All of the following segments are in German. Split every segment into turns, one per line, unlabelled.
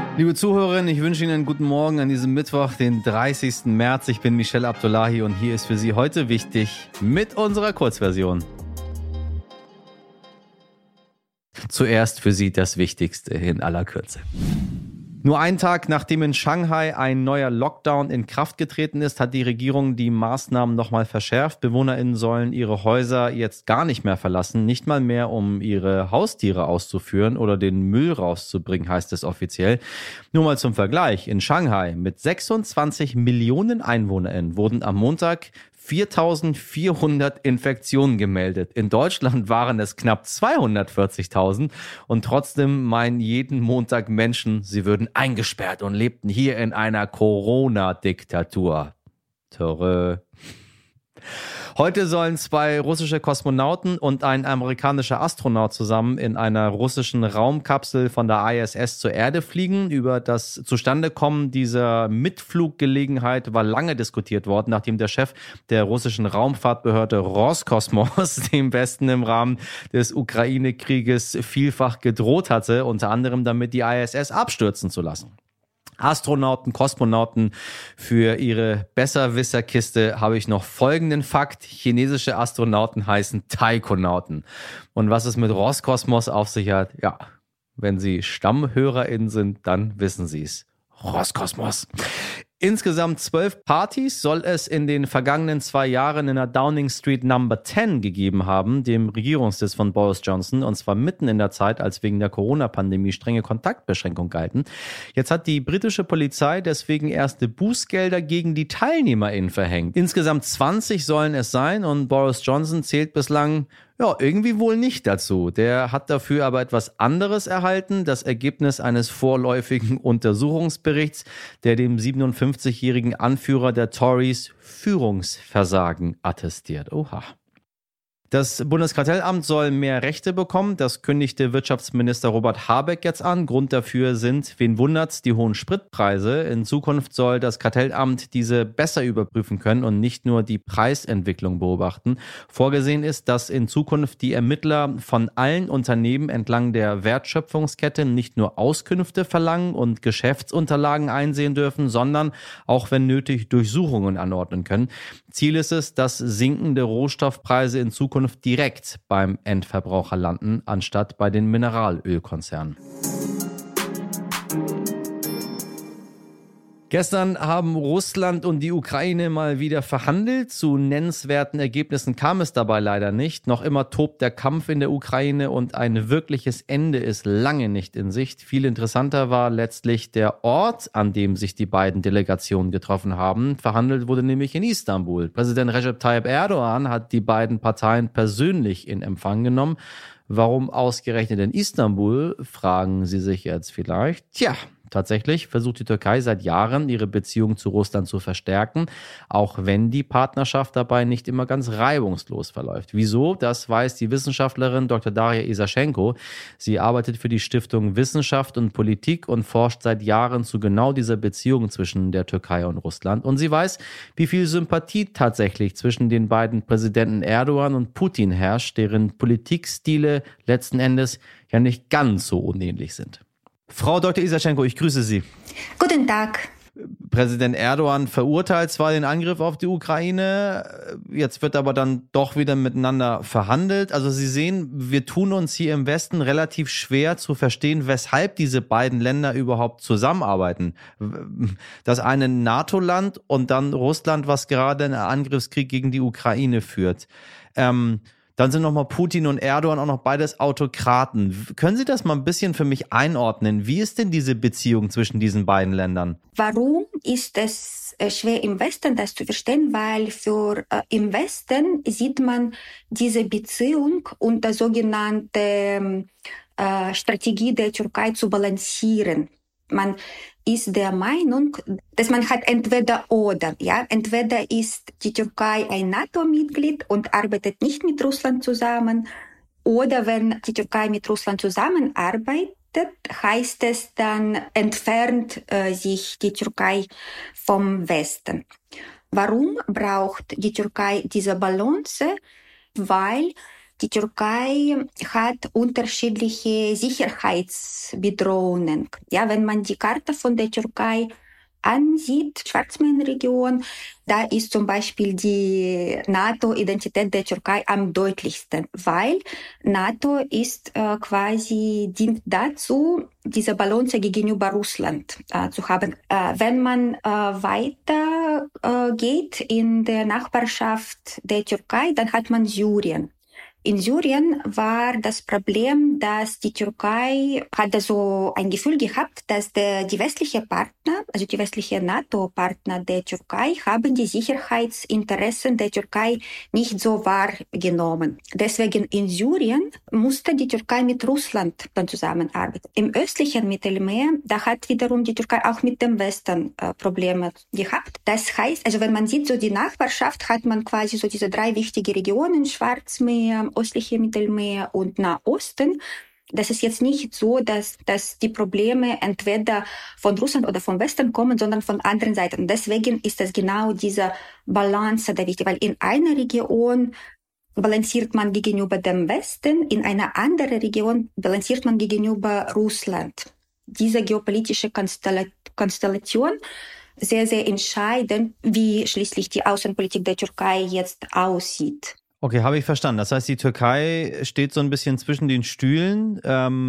Liebe Zuhörerinnen, ich wünsche Ihnen einen guten Morgen an diesem Mittwoch, den 30. März. Ich bin Michel Abdullahi und hier ist für Sie heute wichtig mit unserer Kurzversion. Zuerst für Sie das Wichtigste in aller Kürze. Nur einen Tag nachdem in Shanghai ein neuer Lockdown in Kraft getreten ist, hat die Regierung die Maßnahmen nochmal verschärft. BewohnerInnen sollen ihre Häuser jetzt gar nicht mehr verlassen, nicht mal mehr, um ihre Haustiere auszuführen oder den Müll rauszubringen, heißt es offiziell. Nur mal zum Vergleich, in Shanghai mit 26 Millionen EinwohnerInnen wurden am Montag 4.400 Infektionen gemeldet. In Deutschland waren es knapp 240.000 und trotzdem meinen jeden Montag Menschen, sie würden eingesperrt und lebten hier in einer Corona-Diktatur. Törö. Heute sollen 2 russische Kosmonauten und ein amerikanischer Astronaut zusammen in einer russischen Raumkapsel von der ISS zur Erde fliegen. Über das Zustandekommen dieser Mitfluggelegenheit war lange diskutiert worden, nachdem der Chef der russischen Raumfahrtbehörde Roskosmos dem Westen im Rahmen des Ukraine-Krieges vielfach gedroht hatte, unter anderem damit die ISS abstürzen zu lassen. Astronauten, Kosmonauten, für ihre Besserwisserkiste habe ich noch folgenden Fakt. Chinesische Astronauten heißen Taikonauten. Und was es mit Roskosmos auf sich hat, ja, wenn Sie StammhörerInnen sind, dann wissen Sie es. Roskosmos. Insgesamt 12 Partys soll es in den vergangenen 2 Jahren in der Downing Street Number 10 gegeben haben, dem Regierungssitz von Boris Johnson, und zwar mitten in der Zeit, als wegen der Corona-Pandemie strenge Kontaktbeschränkungen galten. Jetzt hat die britische Polizei deswegen erste Bußgelder gegen die TeilnehmerInnen verhängt. Insgesamt 20 sollen es sein und Boris Johnson zählt bislang irgendwie wohl nicht dazu. Der hat dafür aber etwas anderes erhalten, das Ergebnis eines vorläufigen Untersuchungsberichts, der dem 57-jährigen Anführer der Tories Führungsversagen attestiert. Oha. Das Bundeskartellamt soll mehr Rechte bekommen. Das kündigte Wirtschaftsminister Robert Habeck jetzt an. Grund dafür sind, wen wundert's, die hohen Spritpreise. In Zukunft soll das Kartellamt diese besser überprüfen können und nicht nur die Preisentwicklung beobachten. Vorgesehen ist, dass in Zukunft die Ermittler von allen Unternehmen entlang der Wertschöpfungskette nicht nur Auskünfte verlangen und Geschäftsunterlagen einsehen dürfen, sondern auch, wenn nötig, Durchsuchungen anordnen können. Ziel ist es, dass sinkende Rohstoffpreise in Zukunft direkt beim Endverbraucher landen, anstatt bei den Mineralölkonzernen. Gestern haben Russland und die Ukraine mal wieder verhandelt. Zu nennenswerten Ergebnissen kam es dabei leider nicht. Noch immer tobt der Kampf in der Ukraine und ein wirkliches Ende ist lange nicht in Sicht. Viel interessanter war letztlich der Ort, an dem sich die beiden Delegationen getroffen haben. Verhandelt wurde nämlich in Istanbul. Präsident Recep Tayyip Erdogan hat die beiden Parteien persönlich in Empfang genommen. Warum ausgerechnet in Istanbul, fragen Sie sich jetzt vielleicht. Tatsächlich versucht die Türkei seit Jahren, ihre Beziehung zu Russland zu verstärken, auch wenn die Partnerschaft dabei nicht immer ganz reibungslos verläuft. Wieso? Das weiß die Wissenschaftlerin Dr. Daria Isaschenko. Sie arbeitet für die Stiftung Wissenschaft und Politik und forscht seit Jahren zu genau dieser Beziehung zwischen der Türkei und Russland. Und sie weiß, wie viel Sympathie tatsächlich zwischen den beiden Präsidenten Erdogan und Putin herrscht, deren Politikstile letzten Endes ja nicht ganz so unähnlich sind. Frau Dr. Isaschenko, ich grüße Sie.
Guten Tag.
Präsident Erdogan verurteilt zwar den Angriff auf die Ukraine, jetzt wird aber dann doch wieder miteinander verhandelt. Also Sie sehen, wir tun uns hier im Westen relativ schwer zu verstehen, weshalb diese beiden Länder überhaupt zusammenarbeiten. Das eine NATO-Land und dann Russland, was gerade einen Angriffskrieg gegen die Ukraine führt. Dann sind nochmal Putin und Erdogan auch noch beides Autokraten. Können Sie das mal ein bisschen für mich einordnen? Wie ist denn diese Beziehung zwischen diesen beiden Ländern?
Warum ist es schwer im Westen das zu verstehen? Weil im Westen sieht man diese Beziehung unter sogenannter Strategie der Türkei zu balancieren. Man ist der Meinung, dass man hat entweder oder, entweder ist die Türkei ein NATO-Mitglied und arbeitet nicht mit Russland zusammen, oder wenn die Türkei mit Russland zusammenarbeitet, heißt es dann, entfernt sich die Türkei vom Westen. Warum braucht die Türkei diese Balance? Weil die Türkei hat unterschiedliche Sicherheitsbedrohungen. Ja, wenn man die Karte von der Türkei ansieht, Schwarzmeerregion, da ist zum Beispiel die NATO-Identität der Türkei am deutlichsten, weil NATO ist dient dazu, diese Balance gegenüber Russland zu haben. Wenn man weiter geht in der Nachbarschaft der Türkei, dann hat man Syrien. In Syrien war das Problem, dass die Türkei hatte so ein Gefühl gehabt, dass die westliche Partner, also die westliche NATO-Partner der Türkei, haben die Sicherheitsinteressen der Türkei nicht so wahrgenommen. Deswegen in Syrien musste die Türkei mit Russland dann zusammenarbeiten. Im östlichen Mittelmeer, da hat wiederum die Türkei auch mit dem Westen Probleme gehabt. Das heißt, also wenn man sieht, so die Nachbarschaft, hat man quasi so diese 3 wichtige Regionen, Schwarzmeer, östliche Mittelmeer und Nahosten. Das ist jetzt nicht so, dass die Probleme entweder von Russland oder vom Westen kommen, sondern von anderen Seiten. Deswegen ist es genau diese Balance da wichtig, weil in einer Region balanciert man gegenüber dem Westen, in einer anderen Region balanciert man gegenüber Russland. Diese geopolitische Konstellation sehr, sehr entscheidend, wie schließlich die Außenpolitik der Türkei jetzt aussieht.
Okay, habe ich verstanden. Das heißt, die Türkei steht so ein bisschen zwischen den Stühlen,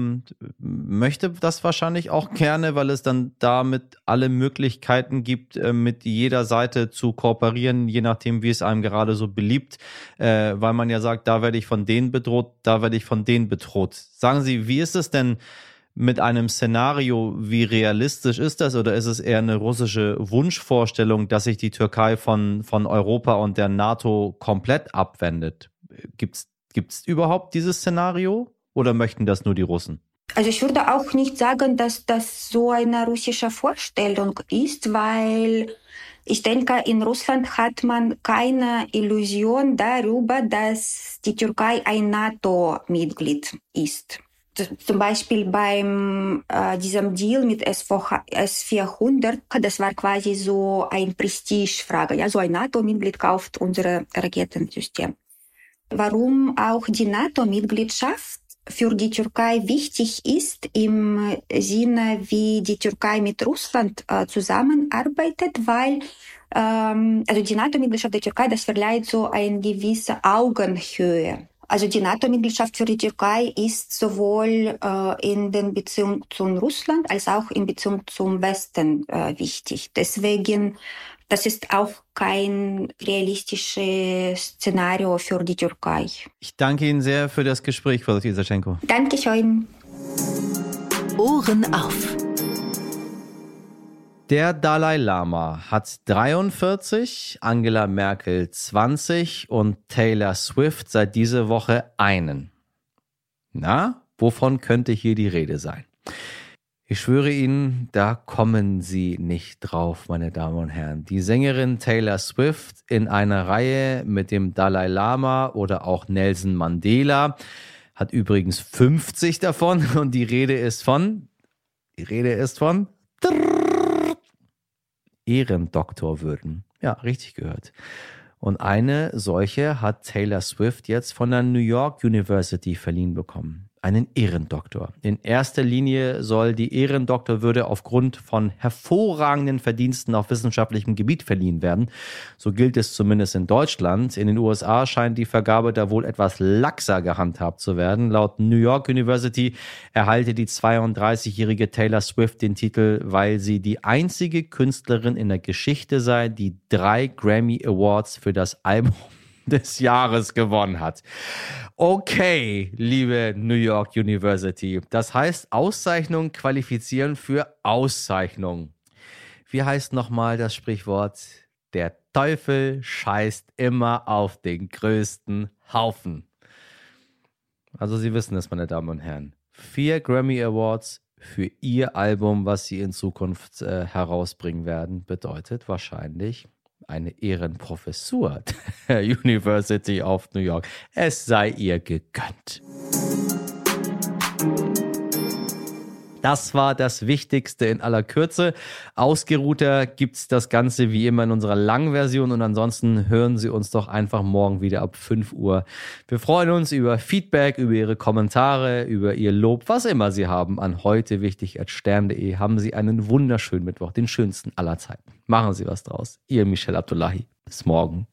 möchte das wahrscheinlich auch gerne, weil es dann damit alle Möglichkeiten gibt, mit jeder Seite zu kooperieren, je nachdem, wie es einem gerade so beliebt, weil man ja sagt, da werde ich von denen bedroht, da werde ich von denen bedroht. Sagen Sie, wie ist es denn mit einem Szenario, wie realistisch ist das, oder ist es eher eine russische Wunschvorstellung, dass sich die Türkei von Europa und der NATO komplett abwendet? Gibt's überhaupt dieses Szenario oder möchten das nur die Russen?
Also ich würde auch nicht sagen, dass das so eine russische Vorstellung ist, weil ich denke, in Russland hat man keine Illusion darüber, dass die Türkei ein NATO-Mitglied ist. Zum Beispiel beim diesem Deal mit S-400, das war quasi so ein Prestigefrage. Ja, so ein NATO-Mitglied kauft unsere Raketensystem. Warum auch die NATO-Mitgliedschaft für die Türkei wichtig ist, im Sinne, wie die Türkei mit Russland zusammenarbeitet, weil also die NATO-Mitgliedschaft der Türkei, das verleiht so eine gewisse Augenhöhe. Also die NATO-Mitgliedschaft für die Türkei ist sowohl in den Beziehungen zu Russland als auch in Beziehung zum Westen wichtig. Deswegen, das ist auch kein realistisches Szenario für die Türkei.
Ich danke Ihnen sehr für das Gespräch, Frau Isaschenko.
Dankeschön.
Ohren auf.
Der Dalai Lama hat 43, Angela Merkel 20 und Taylor Swift seit dieser Woche einen. Na, wovon könnte hier die Rede sein? Ich schwöre Ihnen, da kommen Sie nicht drauf, meine Damen und Herren. Die Sängerin Taylor Swift in einer Reihe mit dem Dalai Lama oder auch Nelson Mandela hat übrigens 50 davon und die Rede ist von Ehrendoktorwürden. Ja, richtig gehört. Und eine solche hat Taylor Swift jetzt von der New York University verliehen bekommen. Einen Ehrendoktor. In erster Linie soll die Ehrendoktorwürde aufgrund von hervorragenden Verdiensten auf wissenschaftlichem Gebiet verliehen werden. So gilt es zumindest in Deutschland. In den USA scheint die Vergabe da wohl etwas laxer gehandhabt zu werden. Laut New York University erhalte die 32-jährige Taylor Swift den Titel, weil sie die einzige Künstlerin in der Geschichte sei, die 3 Grammy Awards für das Album des Jahres gewonnen hat. Okay, liebe New York University. Das heißt, Auszeichnungen qualifizieren für Auszeichnung. Wie heißt nochmal das Sprichwort? Der Teufel scheißt immer auf den größten Haufen. Also Sie wissen es, meine Damen und Herren. 4 Grammy Awards für Ihr Album, was Sie in Zukunft herausbringen werden, bedeutet wahrscheinlich eine Ehrenprofessur der University of New York. Es sei ihr gegönnt. Das war das Wichtigste in aller Kürze. Ausgeruhter gibt's das Ganze wie immer in unserer langen Version und ansonsten hören Sie uns doch einfach morgen wieder ab 5 Uhr. Wir freuen uns über Feedback, über Ihre Kommentare, über Ihr Lob, was immer Sie haben an heutewichtig@stern.de. Haben Sie einen wunderschönen Mittwoch, den schönsten aller Zeiten. Machen Sie was draus. Ihr Michel Abdullahi. Bis morgen.